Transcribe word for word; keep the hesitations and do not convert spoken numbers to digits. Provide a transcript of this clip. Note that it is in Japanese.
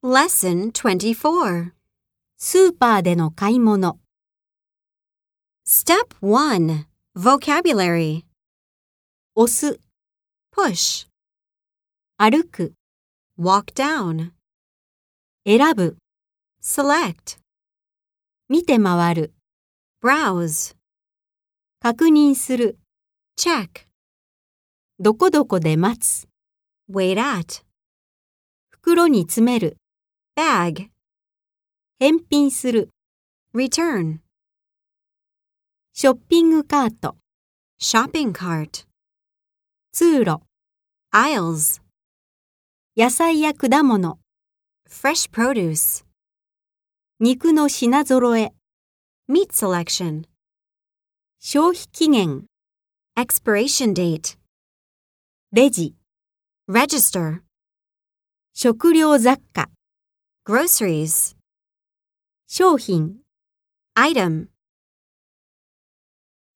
Lesson twenty-four. スーパーでの買い物。 Step one. Vocabulary. 押す、 Push. 歩く、 Walk down. 選ぶ、 Select. 見て回る、 Browse. 確認する、 Check. どこどこで待つ、 Wait at. 袋に詰める、 Bag. 返品する、 Return. ショッピングカート、 Shopping cart. 通路、 Aisles. 野菜や果物、 Fresh produce. 肉の品揃え、 Meat selection. 消費期限、 Expiration date. レジ、 Register. 食料雑貨、 Groceries. 商品、 Item.